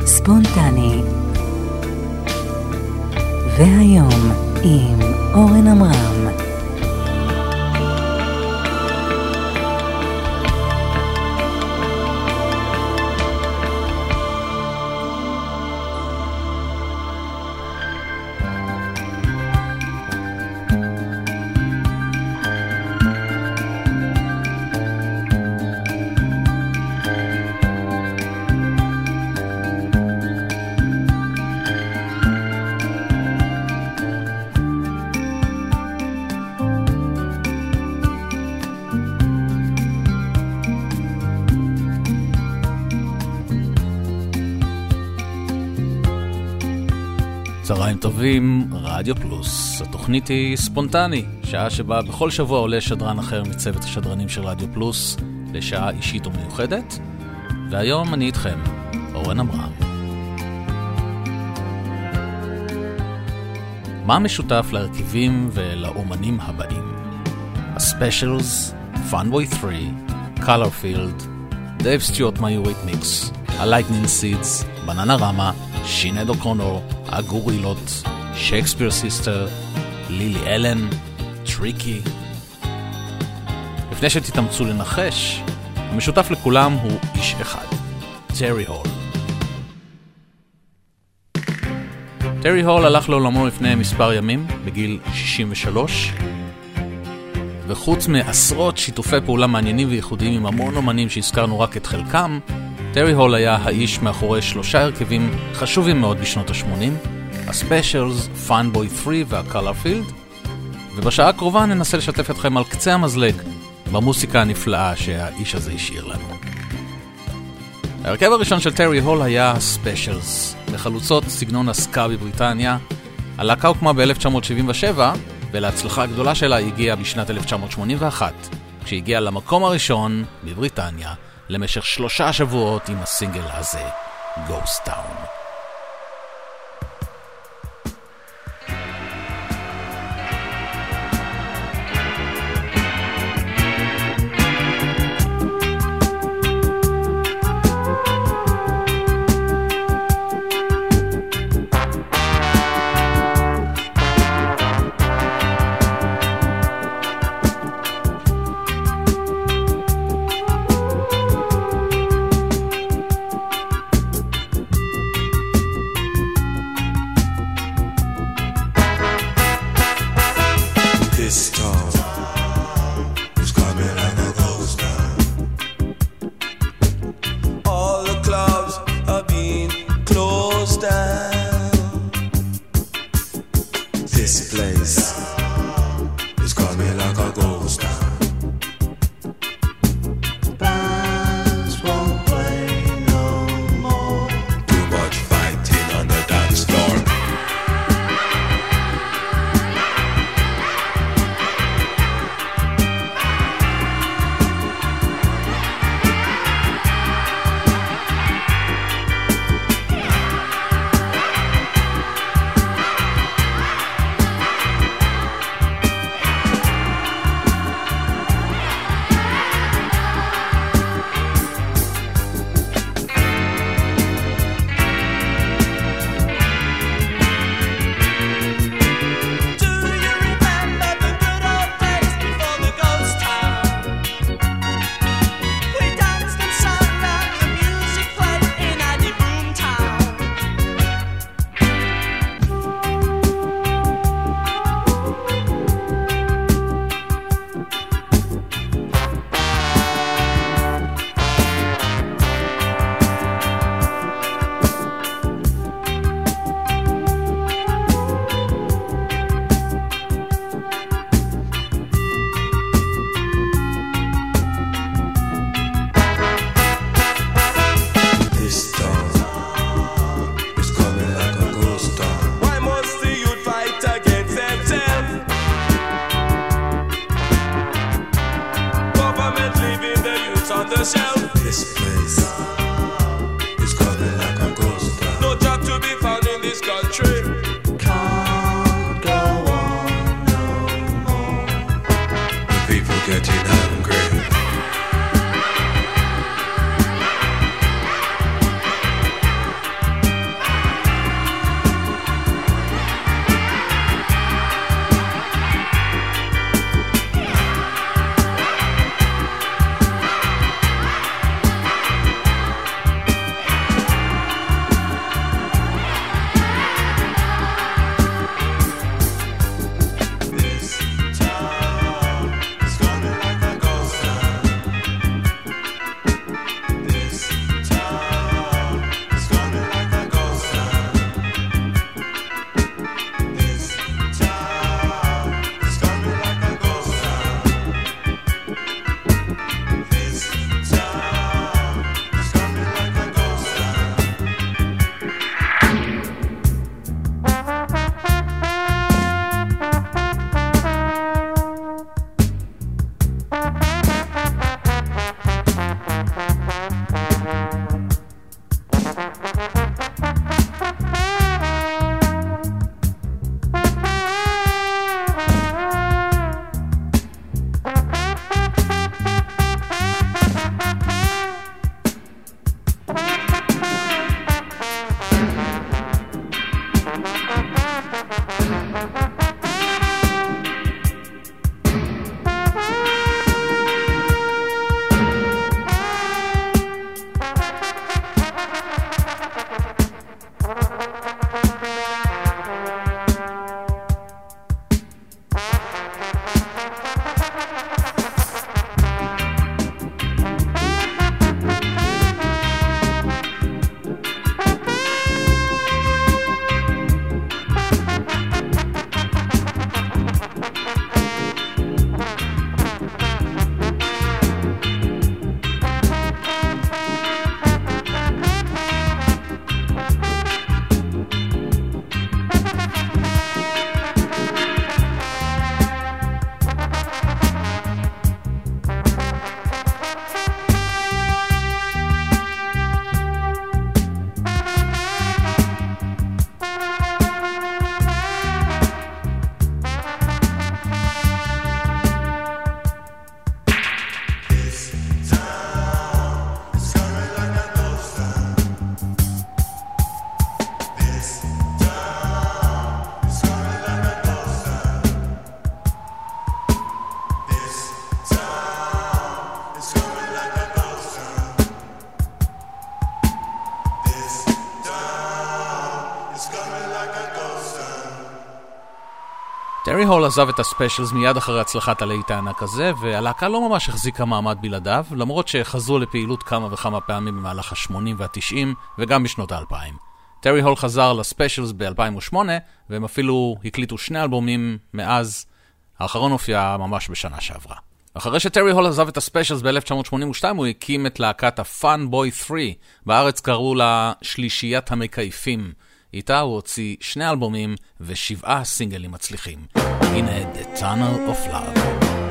ספונטני. והיום עם אורן אמרם. צהריים טובים, רדיו פלוס. התוכנית היא ספונטני, שעה שבה בכל שבוע עולה שדרן אחר מצוות השדרנים של רדיו פלוס לשעה אישית ומיוחדת. והיום אני איתכם, אורן אמרם. מה משותף להרכיבים ולאומנים הבאים? הספיישלס, פאנבוי 3, קולורפילד, דייב סטיוארט מהיוריתמיקס, הלייטנינג סידס, בננה רמה, שינד אוקונור, הגורילות, שייקספיר סיסטר, לילי אלן, טריקי. לפני שתתאמצו לנחש, המשותף לכולם הוא איש אחד, טרי הול. טרי הול הלך לעולמו לפני מספר ימים, בגיל 63, וחוץ מעשרות שיתופי פעולה מעניינים וייחודיים עם המון אומנים שהזכרנו רק את חלקם, טרי הול היה האיש מאחורי 3 הרכבים חשובים מאוד בשנות ה-80, הספיישלס, פאנבוי 3 והקולורפילד, ובשעה הקרובה ננסה לשתף אתכם על קצה המזלג במוסיקה הנפלאה שהאיש הזה השאיר לנו. ההרכב הראשון של טרי הול היה הספיישלס, לחלוצות סגנון הסקה בבריטניה. הלהקה הוקמה ב-1977, ולהצלחה הגדולה שלה הגיעה בשנת 1981, כשהגיעה למקום הראשון בבריטניה, למשך 3 שבועות עם הסינגל הזה, Ghost Town. טרי הול עזב את הספיישלס מיד אחרי הצלחת הלהיט הענק הזה, והלהקה לא ממש החזיקה מעמד בלעדיו, למרות שחזרו לפעילות כמה וכמה פעמים במהלך ה-80 וה-90 וגם בשנות ה-2000. טרי הול חזר לספיישלס ב-2008, והם אפילו הקליטו 2 אלבומים מאז. האחרון הופיע ממש בשנה שעברה. אחרי שטרי הול עזב את הספיישלס ב-1982, הוא הקים את להקת ה-Fun Boy 3. בארץ קראו לה שלישיית המקייפים. איתה הוא הוציא 2 אלבומים ו7 סינגלים מצליחים. הנה The Tunnel of Love.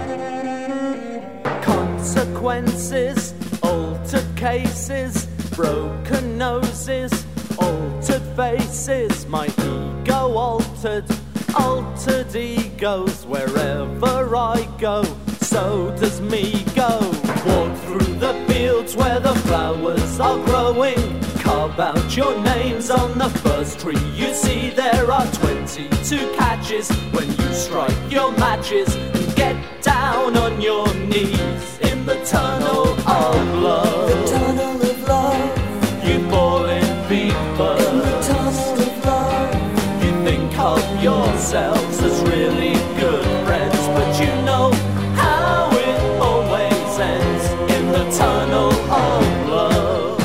Consequences, altered cases, broken noses, altered faces, my ego altered, altered egos, wherever I go, so does me go. Walk through the fields where the flowers are growing, carve out your names on the first tree you see. There are 22 catches when you strike your matches and get down on your knees in the tunnel of love. The tunnel of love. You fall in fever. In the tunnel of love. You think of yourselves as really good friends, but you know how it always ends in the tunnel of love.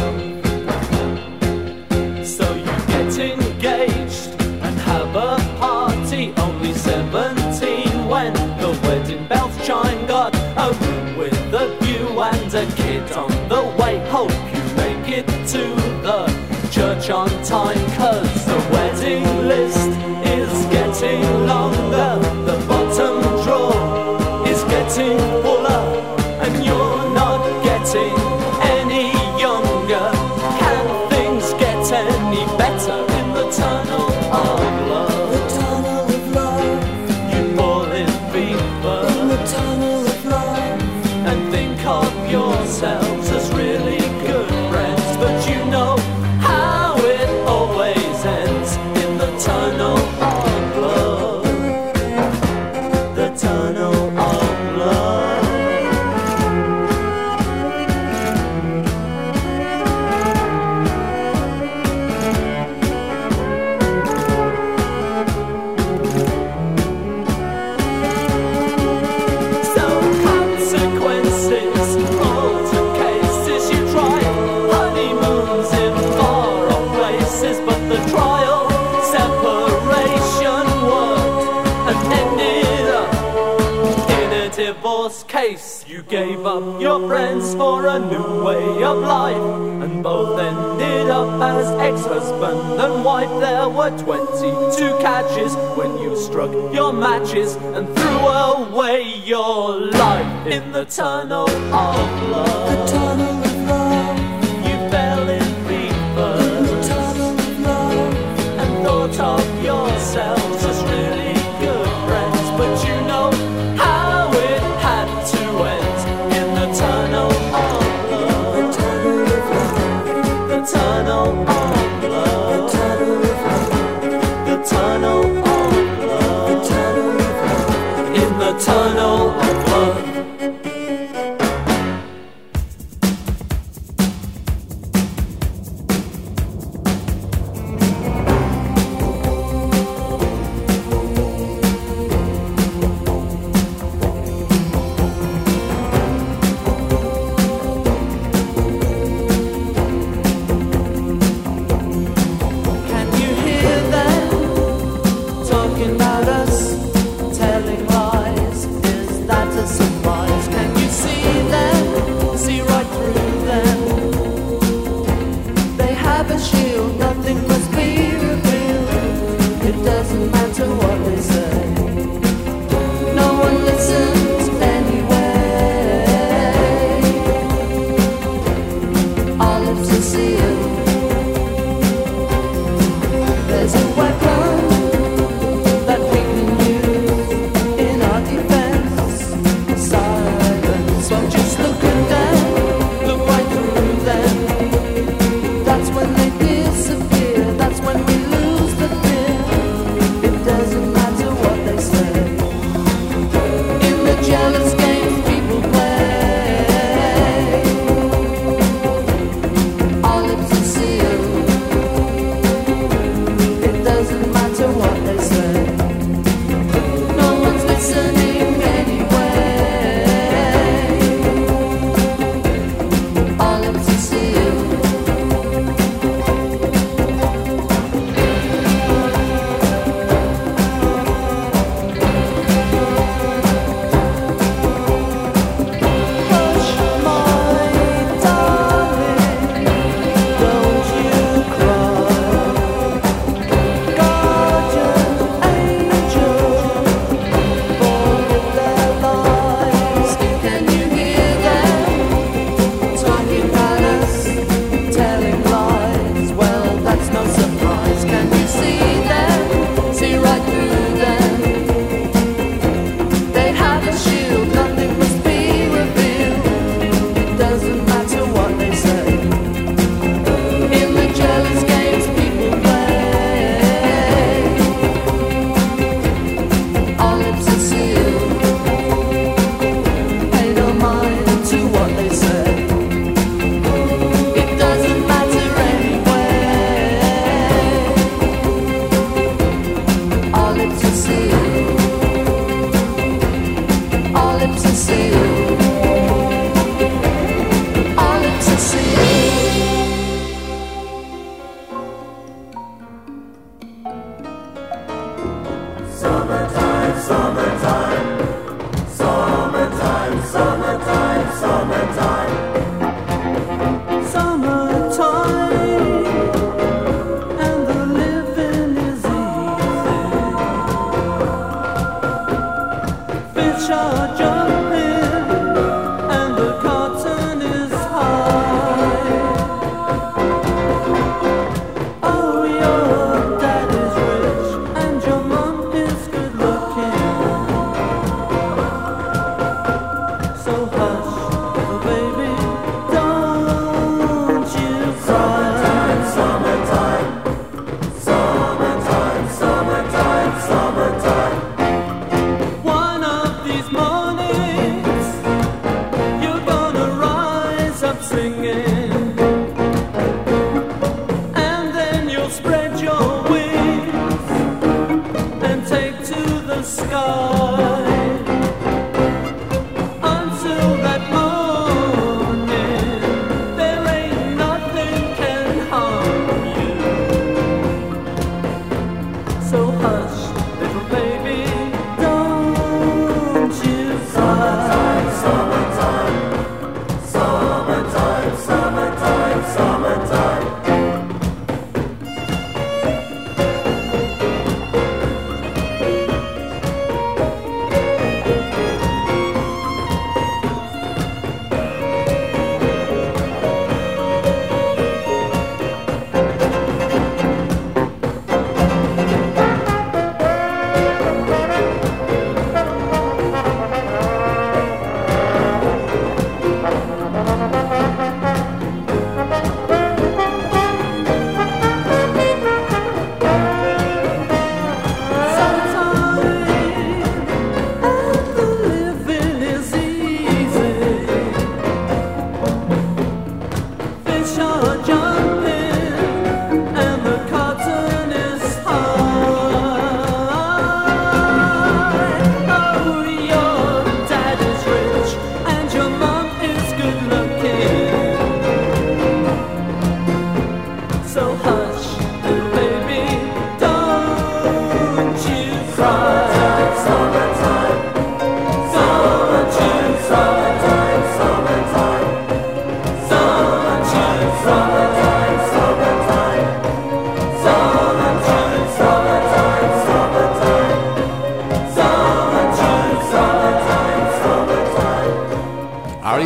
So you get engaged and have a party, only 17 when the wedding bells chime. Got a room with a view and a kid on the way. Hope you make it to the church on time, 'cause the wedding list is getting longer, the bottom drawer is getting fuller, and you're not getting any younger. Can things get any better in the tunnel of love? The tunnel of love. You fall in fever. In the tunnel of love. And think of yourselves as really good friends, but you know how it always ends in the tunnel of love. The tunnel of love. So consequences, altered cases, you try honeymoons in far-off places, but the trial, separation worked and ended up in a divorce case. You gave up your friends for a new way of life, and both ended up as ex-husband and wife. There were 22 catches when you struck your matches and threw away your life in the tunnel of love. The tunnel of love. You fell in fever. In the tunnel of love. And thought of yourselves as really good friends, but you know how it had to end in the tunnel of love. The tunnel of love. The tunnel of love. The tunnel of love. The tunnel of love. The tunnel of love. In the tunnel of love.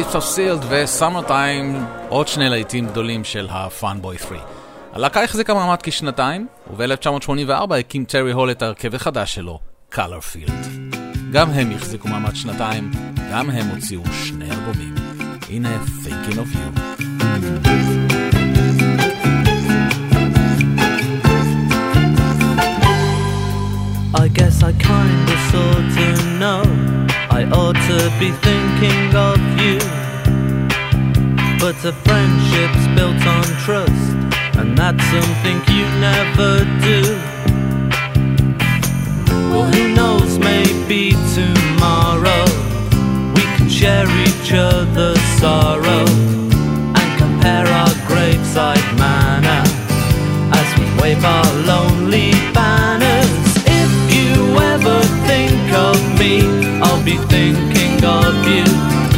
Lips of Sealed ו-Summertime, עוד שני להיטים גדולים של ה-Funboy 3. הלהקה החזיקה מעמד כשנתיים, וב-1984 הקים טרי הול את ההרכב החדש שלו, Colorfield. גם הם החזיקו מעמד שנתיים, גם הם הוציאו שני אלבומים. הנה Thinking of You. I guess I kinda sorta know I ought to be thinking of you, but a friendship's built on trust, and that's something you never do. Well, who knows, maybe tomorrow we can share each other's sorrow and compare our graveside manner as we wave our lonely banners. If you ever think of me, I'll be thinking of you.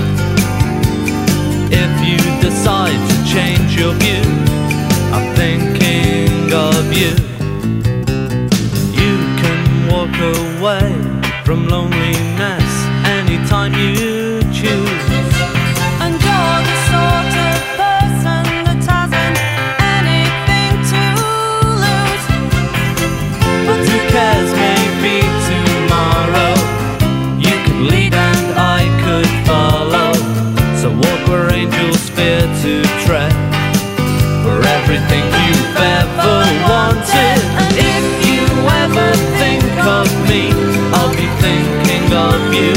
If you decide to change your view, I'm thinking of you. You can walk away from loneliness anytime you choose. And you're the sort of person that hasn't anything to lose. But who cares, maybe tomorrow you could lead and I could follow. So walk where angels fear to tread, for everything you've ever wanted. And if you ever think of me, I'll be thinking of you.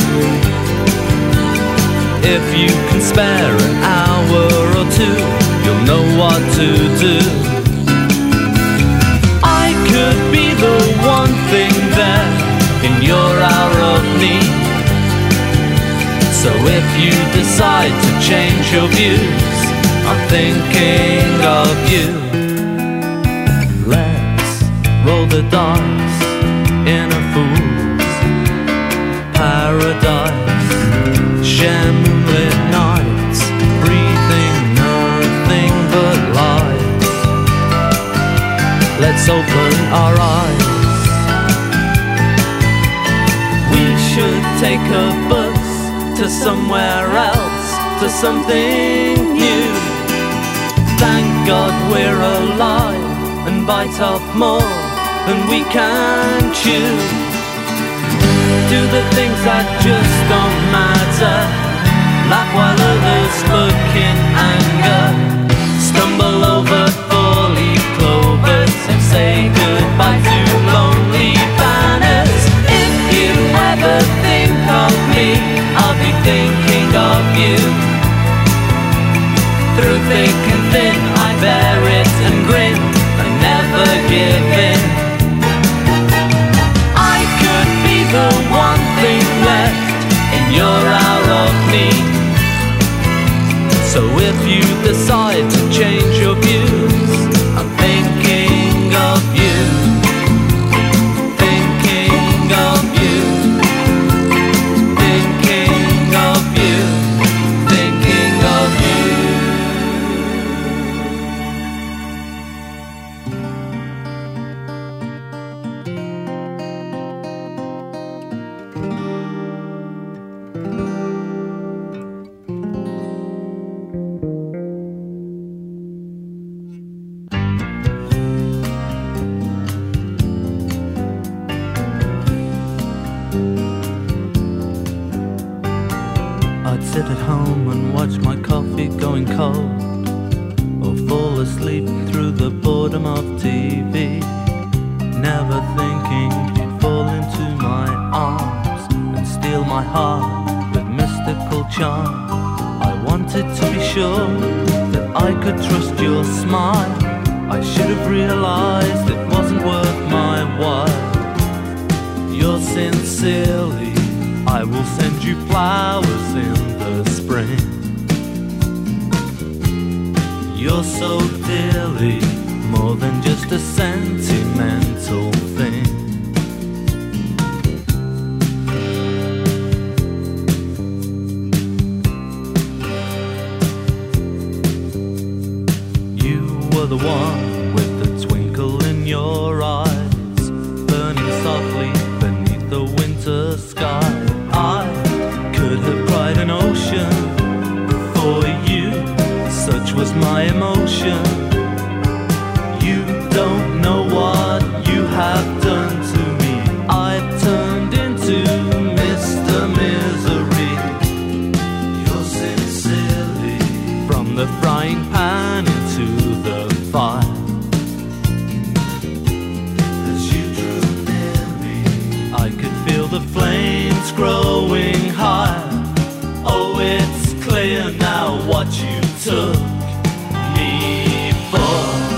If you can spare an hour or two, you'll know what to do. I could be the one thing there in your hour of need. So if you decide to change your views, I'm thinking of you. Let's roll the dice in a fool's paradise. Share moonlit nights, breathing nothing but light. Let's open our eyes. We should take a bus to somewhere else, to something new. Thank God we're alive and bite off more than we can chew. Do the things that just don't matter, laugh while others look in anger, stumble over four-leaf clovers and say goodbye to lonely banners. If you ever think of me, I'll be thinking of you. Through thick and thin, I bear it and grin and never give in. I could be the one thing left in your hour of need. So if you decide to change your views, I'm thinking of you. Thinking of you. Thinking of you. Thinking of you. I'd sit at home and watch my coffee going cold, or fall asleep through the boredom of TV, never thinking you'd fall into my arms and steal my heart with mystical charm. I wanted to be sure that I could trust your smile. I should have realized it wasn't worth my while. You're sincerely, I will send you flowers in the spring. You're so dearly more than just a sentimental thing. You were the one with the twinkle in your eyes, burning softly beneath the winter sky. I could have cried an ocean such was my emotion. You don't know what you have done to me. I've turned into Mr. Misery. You're sincerely from the frying pan into the fire. As you drew near me, I could feel the flames growing higher. Oh, it's clear now what you took me for.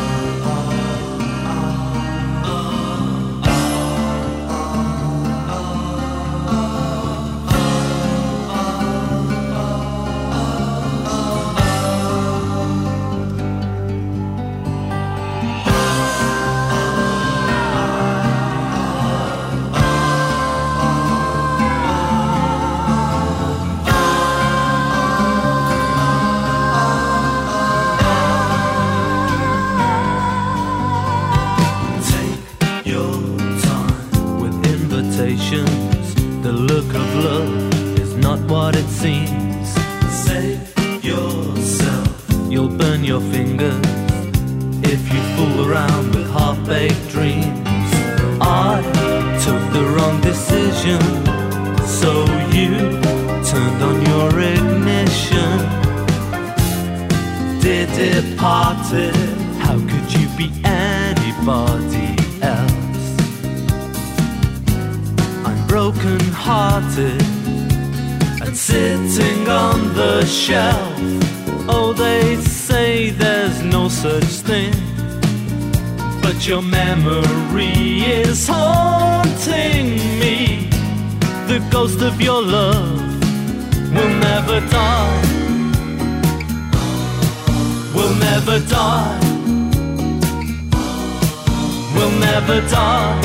The look of love is not what it seems. Save yourself. You'll burn your fingers if you fool around with half-baked dreams. I took the wrong decision, so you turned on your ignition. Dear departed, how could you be anybody else? Broken-hearted and sitting on the shelf. Oh, they say there's no such thing, but your memory is haunting me. The ghost of your love will never die. Will never die. Will never die.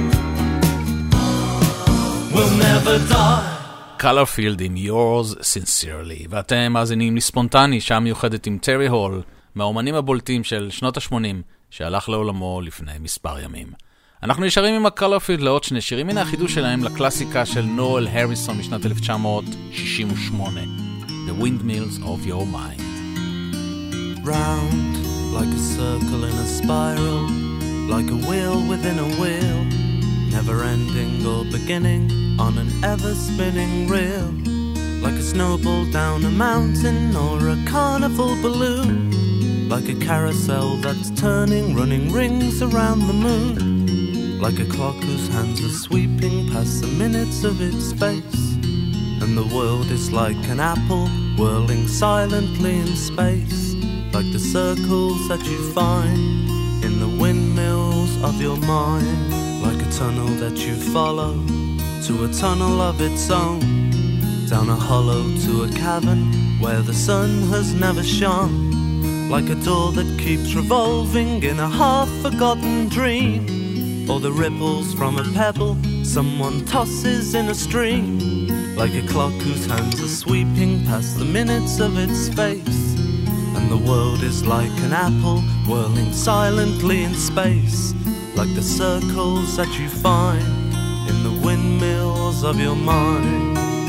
Will never die. Colorfield עם Yours Sincerely, ואתם מאזינים לספונטני, שעה מיוחדת עם טרי הול, מהאומנים הבולטים של שנות ה-80, שהלך לעולמו לפני מספר ימים. אנחנו נשארים עם ה-Colorfield לעוד שני שירים, הנה החידוש שלהם לקלאסיקה של נואל הריסון משנת 1968, The Windmills of Your Mind. Round like a circle in a spiral, like a wheel within a wheel, never ending or beginning on an ever-spinning reel, like a snowball down a mountain or a carnival balloon, like a carousel that's turning, running rings around the moon, like a clock whose hands are sweeping past the minutes of its space, and the world is like an apple whirling silently in space, like the circles that you find in the windmills of your mind. Like a tunnel that you follow to a tunnel of its own, down a hollow to a cavern where the sun has never shone, like a door that keeps revolving in a half-forgotten dream, or the ripples from a pebble someone tosses in a stream, like a clock whose hands are sweeping past the minutes of its face, and the world is like an apple whirling silently in space, like the circles that you find in the windmills of your mind.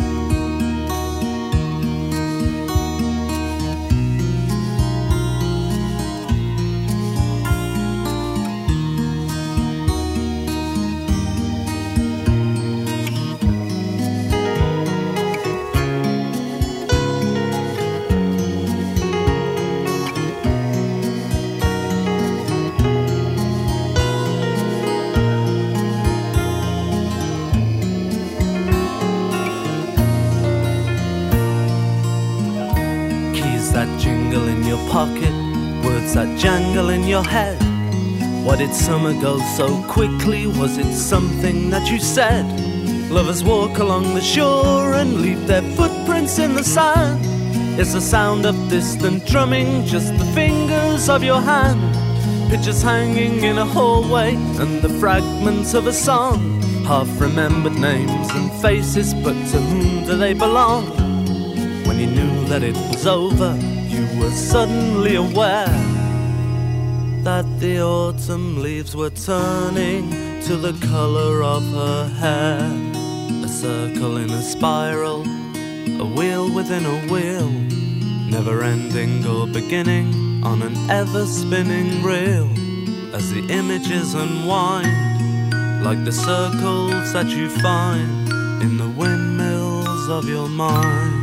Pocket, words that jangle in your head. What did summer go so quickly? Was it something that you said? Lovers walk along the shore and leave their footprints in the sand. It's the sound of distant drumming, just the fingers of your hand. Pictures hanging in a hallway and the fragments of a song. Half-remembered names and faces, but to whom do they belong? When you knew that it was over, you were suddenly aware that the autumn leaves were turning to the color of her hair. A circle in a spiral, a wheel within a wheel, never-ending or beginning on an ever-spinning reel, as the images unwind like the circles that you find in the windmills of your mind.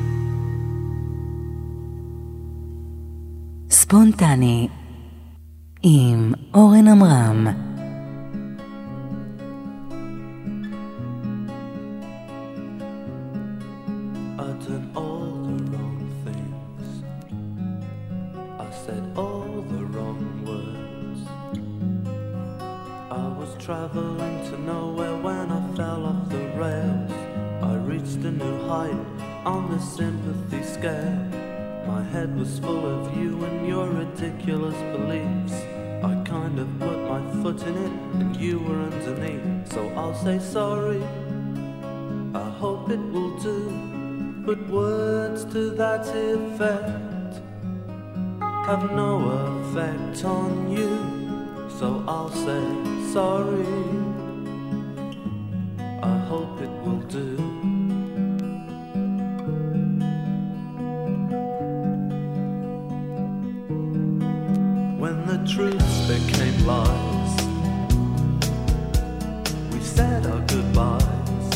ספונטני עם אורן אמרם. I've done all the wrong things, I said all the wrong words. I was traveling to nowhere when I fell off the rails. I reached a new height on the sympathy scale. My head was full of you and your ridiculous beliefs. I kind of put my foot in it and you were underneath. So I'll say sorry, I hope it will do. But words to that effect have no effect on you. So I'll say sorry, I hope it will do. When the truths became lies, we said our goodbyes.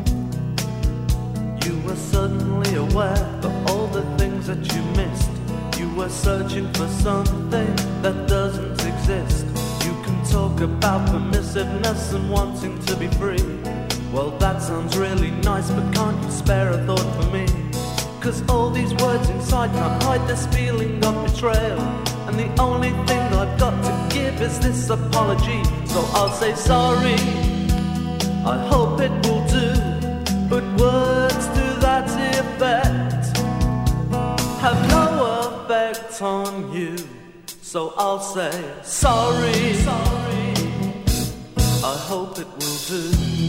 You were suddenly aware of all the things that you missed. You were searching for something that doesn't exist. You can talk about permissiveness and wanting to be free. Well, that sounds really nice, but can't you spare a thought for me? 'Cause all these words inside can't hide this feeling of betrayal. And the only thing I've got to give is this apology. So I'll say sorry, I hope it will do. But words to that effect have no effect on you. So I'll say sorry, I hope it will do.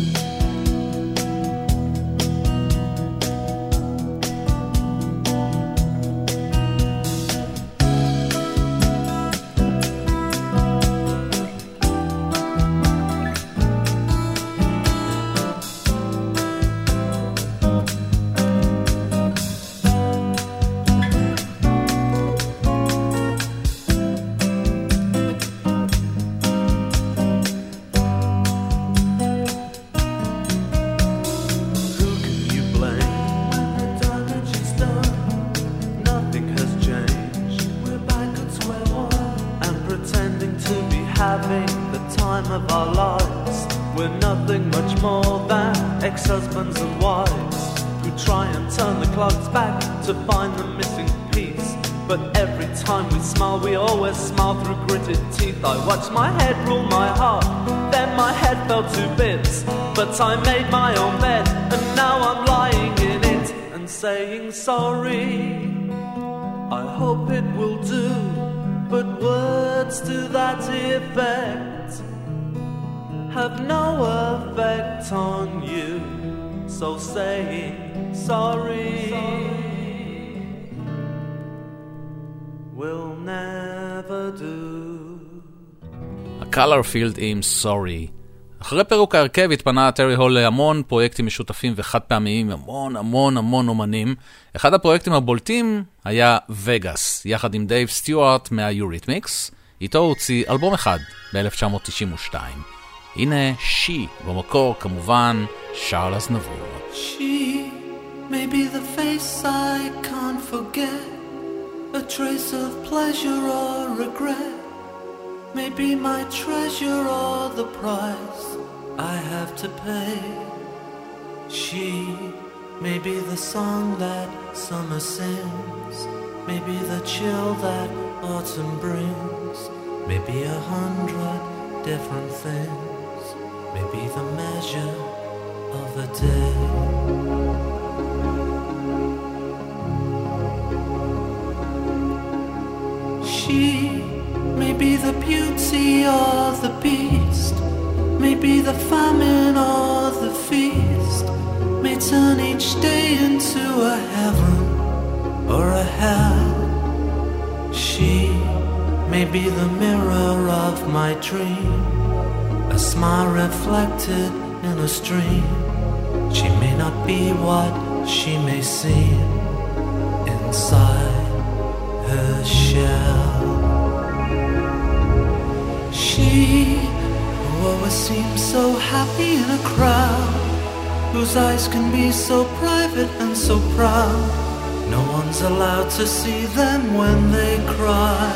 Ex-husbands and wives who try and turn the clocks back to find the missing piece. But every time we smile, we always smile through gritted teeth. I watched my head rule my heart, then my head fell to bits. But I made my own bed, and now I'm lying in it and saying sorry, I hope it will do. But words to that effect have no effect on you. So saying sorry will never do. הקלרפילד עם Sorry. אחרי פירוק ההרכב התפנה טרי הול להמון פרויקטים משותפים וחד פעמיים, המון אומנים. אחד הפרויקטים הבולטים היה וגאס, יחד עם דייב סטיוארט מהיוריתמיקס. איתו הוא הוציא אלבום אחד ב-1992. הנה She, במקור כמובן שרל אזנבור. She may be the face I can't forget, a trace of pleasure or regret, may be my treasure or the price I have to pay. She may be the song that summer sings, may be the chill that autumn brings, may be 100 different things, may be the measure of a day. She may be the beauty or the beast, may be the famine or the feast, may turn each day into a heaven or a hell. She may be the mirror of my dream, a smile reflected in a stream. She may not be what she may seem inside. shell. She who always seems so happy in a crowd, whose eyes can be so private and so proud, no one's allowed to see them when they cry.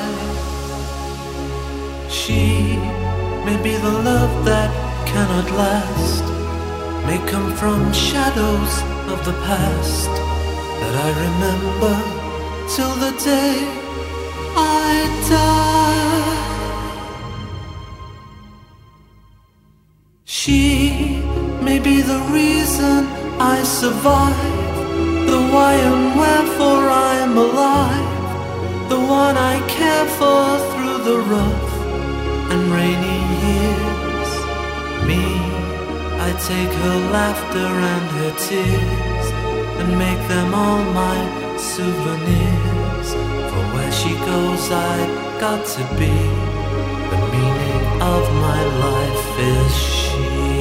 She may be the love that cannot last, may come from shadows of the past that I remember till the day I die. She may be the reason I survive, the why and wherefore I am alive, the one I care for through the rough and rainy years. Me, I take her laughter and her tears and make them all my souvenirs. For where she goes I've got to be, the meaning of my life is she.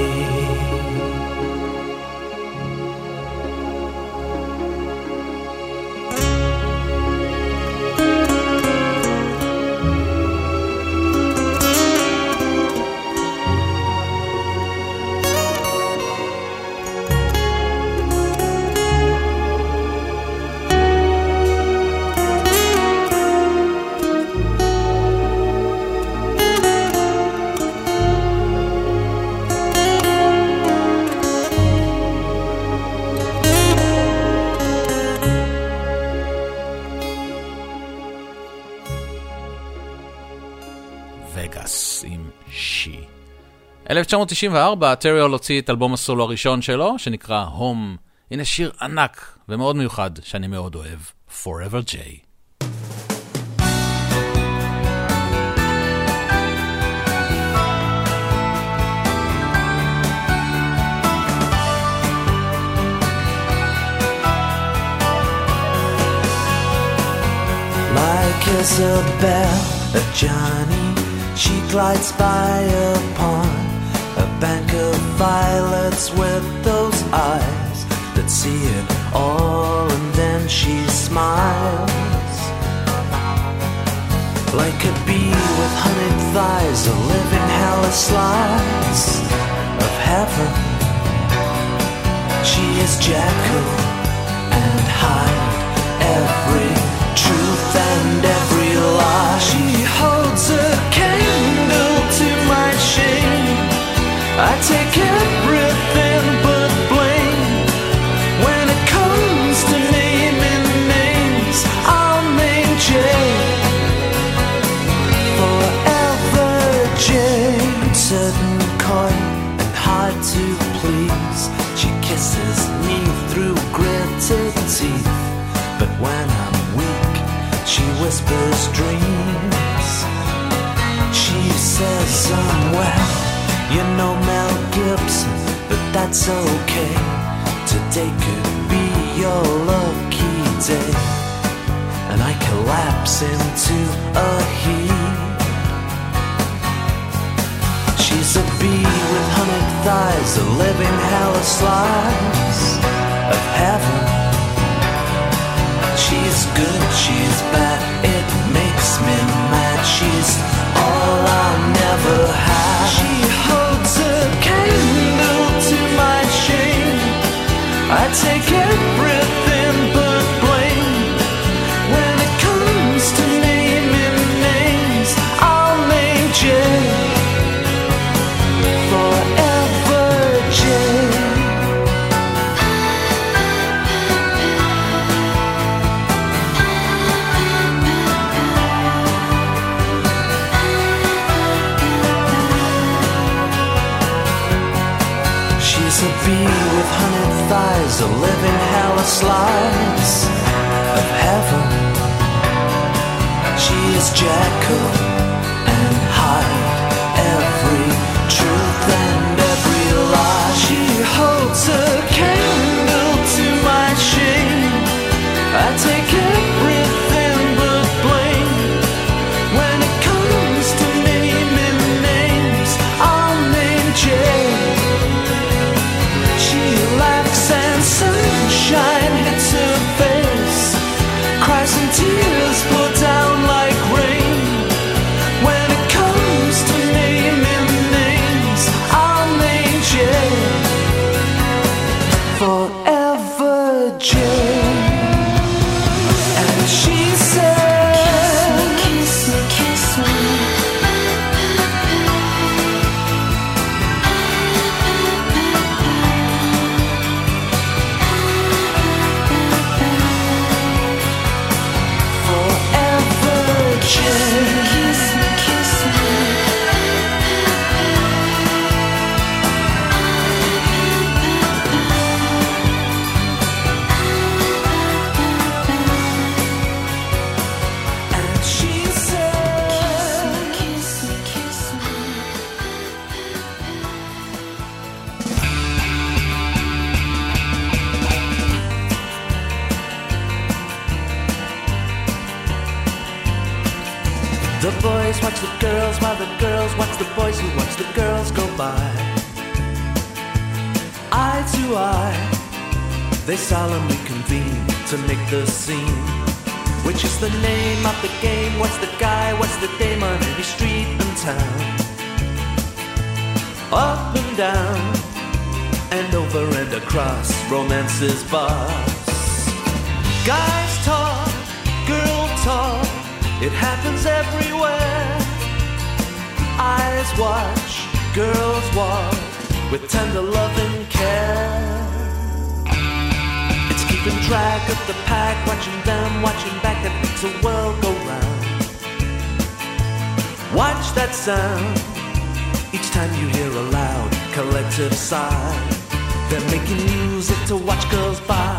וגאס עם שי. 1994 טרי הול הוציא את אלבום הסולו הראשון שלו שנקרא הום. הנה שיר ענק ומאוד מיוחד שאני מאוד אוהב, Forever J. Like Isabel, a Johnny, she glides by upon a bank of violets with those eyes that see it all, and then she smiles. Like a bee with honeyed thighs, a living hell of slice of heaven. She is Jekyll and Hyde, every truth and every lie. She holds a candle to my shame. I take everything but blame. When it comes to naming names, I'll name Jane. Forever Jane. Certain coy and hard to please, she kisses me through gritted teeth. But when I'm weak, she whispers dreams. She says well, you know Mel Gibson, but that's okay. Today could be your lucky day. And I collapse into a heap. She's a bee with honeyed thighs, a living hell of slice of heaven. She's good, she's bad, it makes me mad. She's all I'll never have. She holds a candle to my shame. I take everything but blame. When it comes to naming names, I'll name Jane. Forever Jane. A bee with honeyed thighs, a living hell of slice of heaven. She is Jekyll and Hyde, every truth and every lie. She holds a candle to my shame. I take everything but blame. When it comes to naming names, I'll name Jane. She laughs and sunshine hits her face, cries and tears pour down like The boys watch the girls while the girls watch the boys who watch the girls go by. Eye to eye, they solemnly convene to make the scene. Which is the name of the game? What's the guy? What's the dame on every street and town? Up and down, and over and across romance's boss. Guys talk, girl talk, it happens everywhere. Eyes watch, girls walk, with tender love and care. It's keeping track of the pack, watching them, watching back, that makes the world go round. Watch that sound, each time you hear a loud collective sigh. They're making music to watch girls by.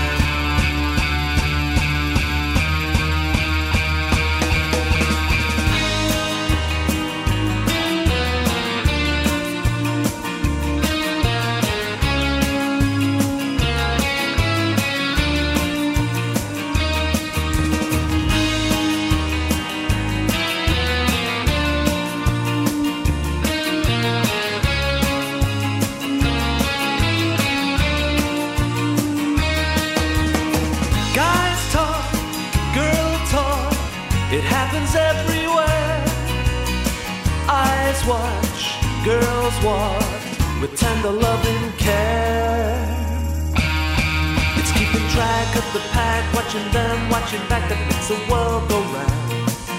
Watch, girls walk, with tender love and care. It's keeping track of the pack, watching them, watching back, that makes the world go round.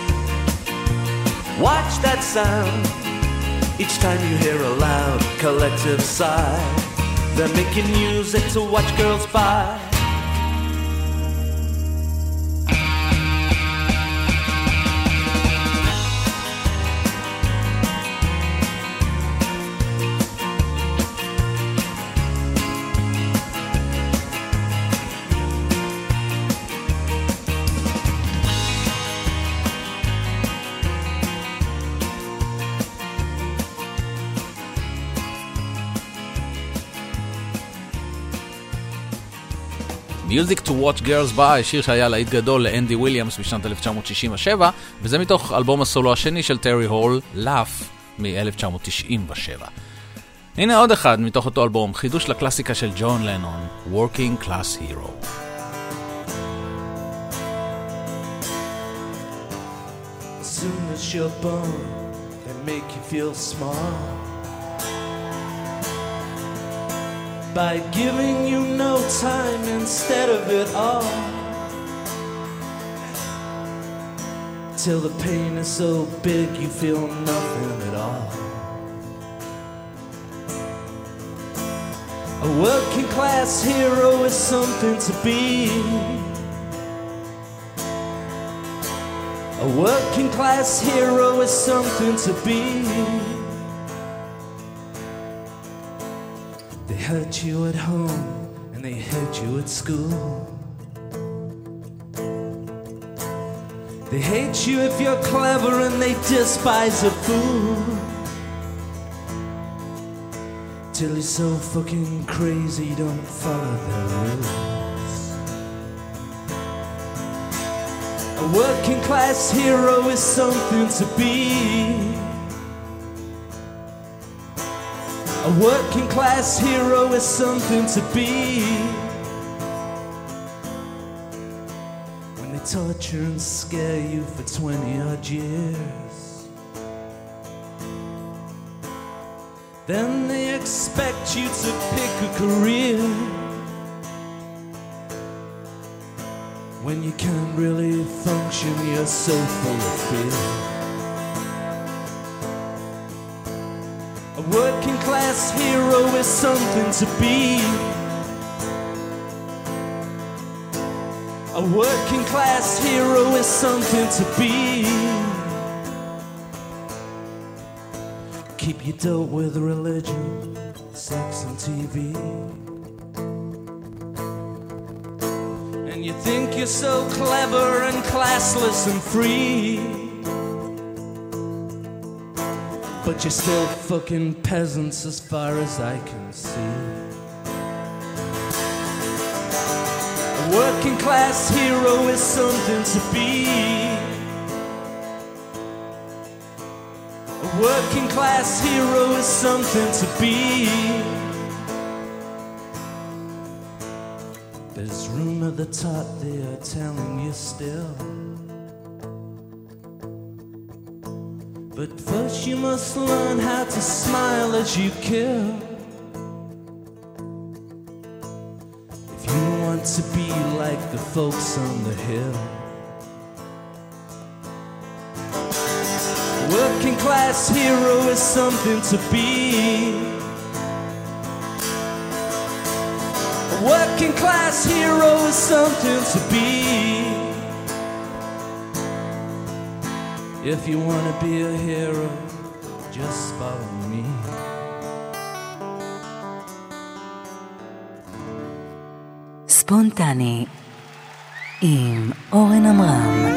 Watch that sound, each time you hear a loud collective sigh. They're making music to watch girls by. Music to Watch Girls By, שיר שהיה להיט גדול לאנדי וויליאמס בשנת 1967, וזה מתוך אלבום הסולו השני של טרי הול, Laugh, מ-1997. הנה עוד אחד מתוך אותו אלבום, חידוש לקלאסיקה של ג'ון לנון, Working Class Hero. As soon as you're born, they make you feel smart by giving you no time instead of it all, till the pain is so big you feel nothing at all. A working class hero is something to be. A working class hero is something to be. They hurt you at home and they hurt you at school. They hate you if you're clever and they despise a fool. Till you're so fucking crazy you don't follow their rules. A working class hero is something to be. A working class hero is something to be. When they torture and scare you for 20 odd years, then they expect you to pick a career. When you can't really function, you're so full of fear. A working class hero is something to be. A working class hero is something to be. Keep your dope with religion, sex and TV. And you think you're so clever and classless and free, but you're still fucking peasants as far as I can see. A working class hero is something to be. A working class hero is something to be. There's room at the top, they are telling you still. But first you must learn how to smile as you kill. If you want to be like the folks on the hill. Working class hero is something to be. A working class hero is something to be. If you want to be a hero, just follow me. ספונטני עם אורן עמרם.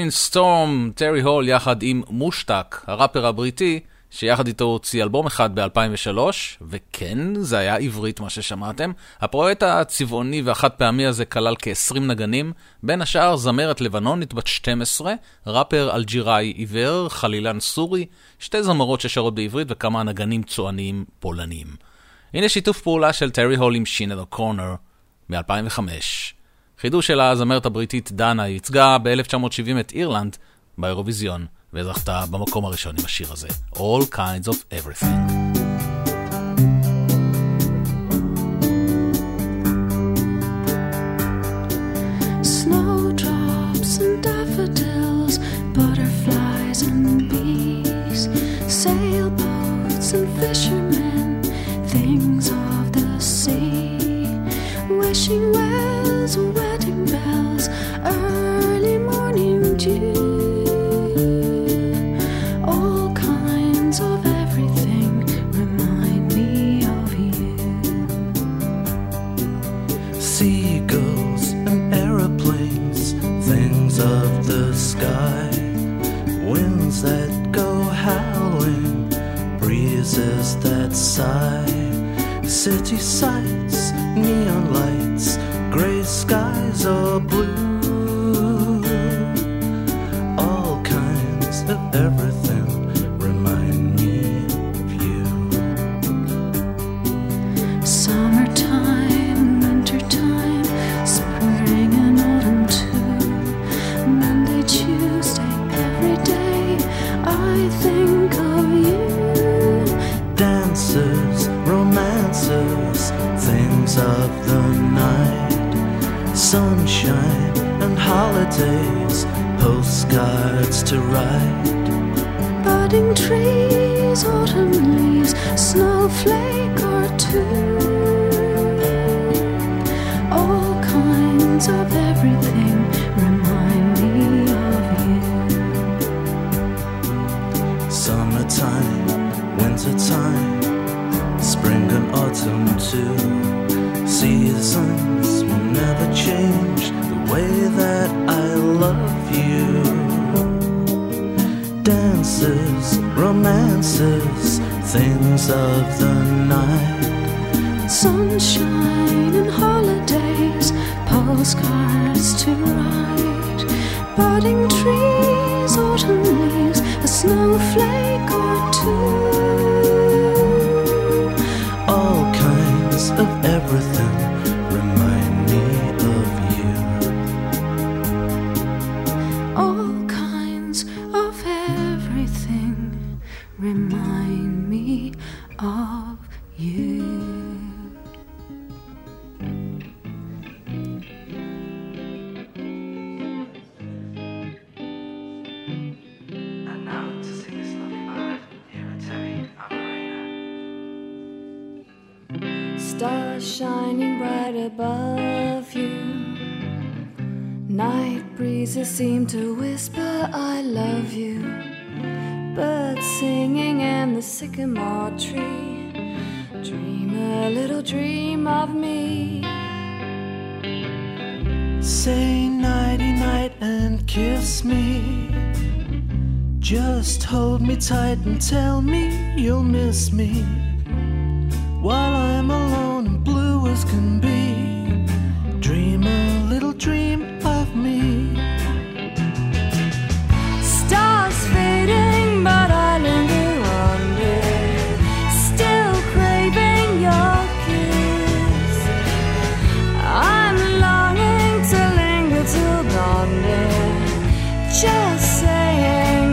Rolling Storm, טרי הול יחד עם מושטק, הראפר הבריטי, שיחד איתו הוציא אלבום אחד ב-2003, וכן, זה היה עברית מה ששמעתם. הפרויקט הצבעוני והחד פעמי הזה כלל כ-20 נגנים, בין השאר זמרת לבנונית בת 12, ראפר אלג'יראי עיוור, חלילן סורי, שתי זמרות ששרות בעברית וכמה נגנים צועניים פולניים. הנה שיתוף פעולה של טרי הול עם שינד אוקונר מ-2005. חידוש של הזמרת הבריטית דנה ייצגה ב-1970 את אירלנד באירוויזיון, וזכתה במקום הראשון עם השיר הזה, All Kinds of Everything. Snowdrops and daffodils, butterflies and bees, sailboats and fishermen, things of the sea, wishing wells, wedding bells, early morning dew. That sigh, city sights, neon lights, gray skies or blue, all kinds of everything remind me of you. Summertime, wintertime, spring and autumn too, Monday, Tuesday, every day I think of you. Dances, romances, things of the night, sunshine and holidays, postcards to write. Budding trees, autumn leaves, snowflake or two, all kinds of everything remind me of you. Summertime, wintertime, spring and autumn too. Seasons will never change the way that I love you. Dances, romances, things of the night, sunshine and holidays, postcards to write. Budding trees, autumn leaves, a snowflake or two, all kinds of everything remind me of you. all kinds of everything remind me of you. Stars shining bright above you, night breezes seem to whisper I love you, birds singing in the sycamore tree, dream a little dream of me. Say nighty night and kiss me, just hold me tight and tell me you'll miss me, while I'm alone and blue as can be. Dream a little dream of me. Stars fading, but I linger under, still craving your kiss. I'm longing to linger till dawn, dear, just saying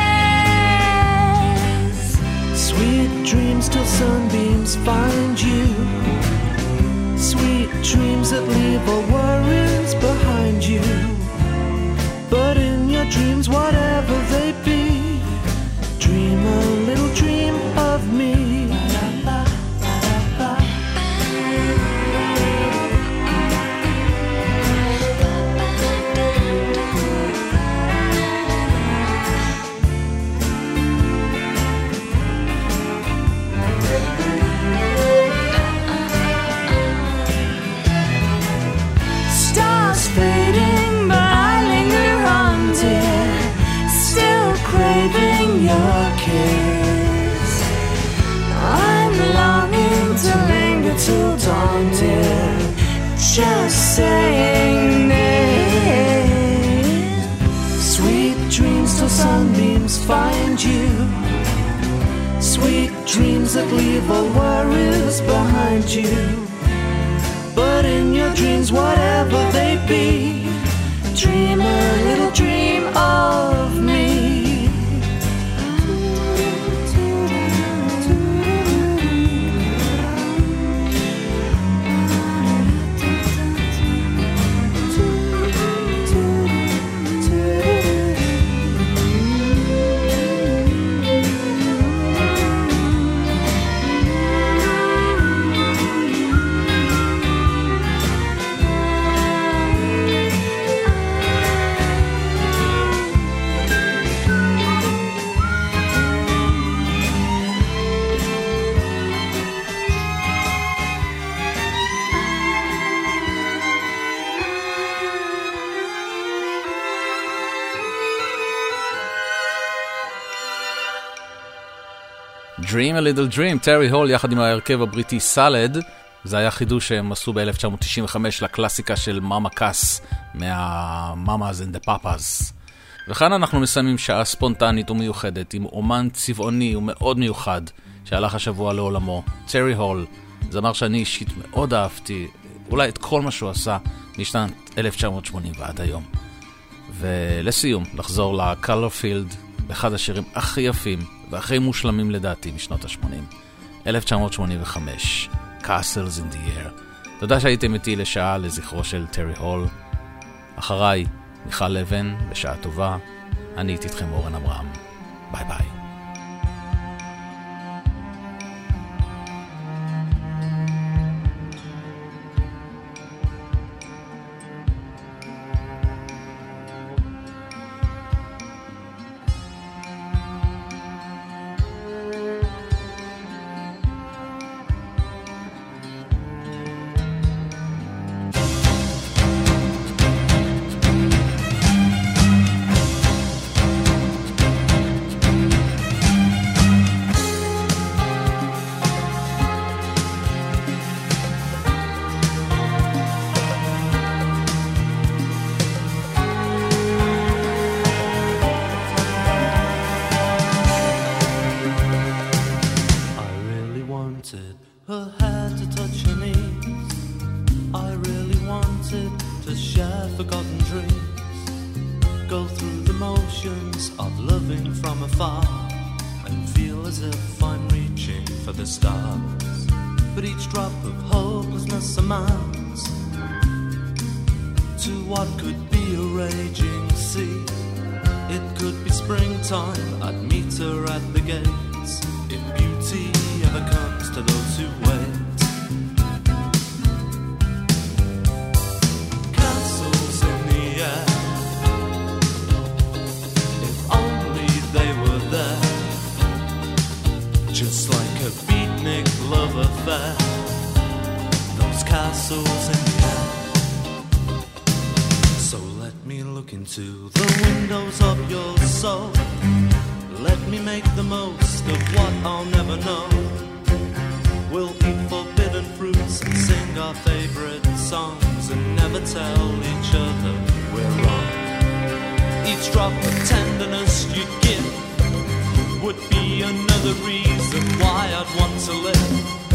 this. Sweet dreams till sunbeams find you, sweet dreams that leave all worries behind you. But in your dreams, whatever they be, dream a little dream of me. Stars fading, but I linger on, dear, just saying it. Sweet dreams till sunbeams find you. Sweet dreams that leave all worries behind you. But in your dreams, whatever they be, dream a little dream of me. Dream a Little Dream, טרי הול יחד עם ההרכב הבריטי סלד. זה היה חידוש שהם עשו ב-1995 לקלאסיקה של מאמה קאס מה-Mamas and the Papas. וכאן אנחנו מסיימים שעה ספונטנית ומיוחדת עם אומן צבעוני ומאוד מיוחד שהלך השבוע לעולמו, טרי הול. זמר שאני אישית מאוד אהבתי, אולי את כל מה שהוא עשה משנת 1980 ועד היום. ולסיום, לחזור לקלרפילד, אחד השירים הכי יפים והכי מושלמים לדעתי משנות ה-80, 1985, Castles in the Air. תודה שהייתם איתי לשעה לזכרו של טרי הול. אחריי, מיכל לבן, בשעה טובה. אני הייתי איתכם אורן אברהם. ביי ביי.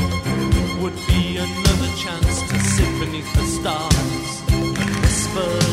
Would be another chance to sit beneath the stars and whisper